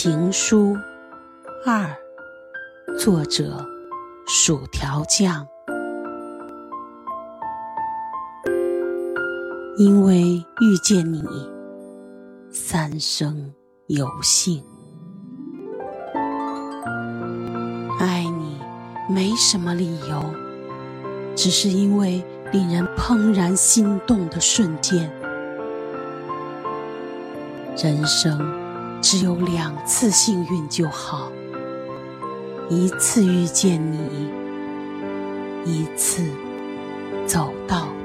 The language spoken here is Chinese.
情书2，作者薯条酱。因为遇见你，三生有幸。爱你没什么理由，只是因为令人怦然心动的瞬间。人生只有2次幸运就好，1次遇见你，1次走到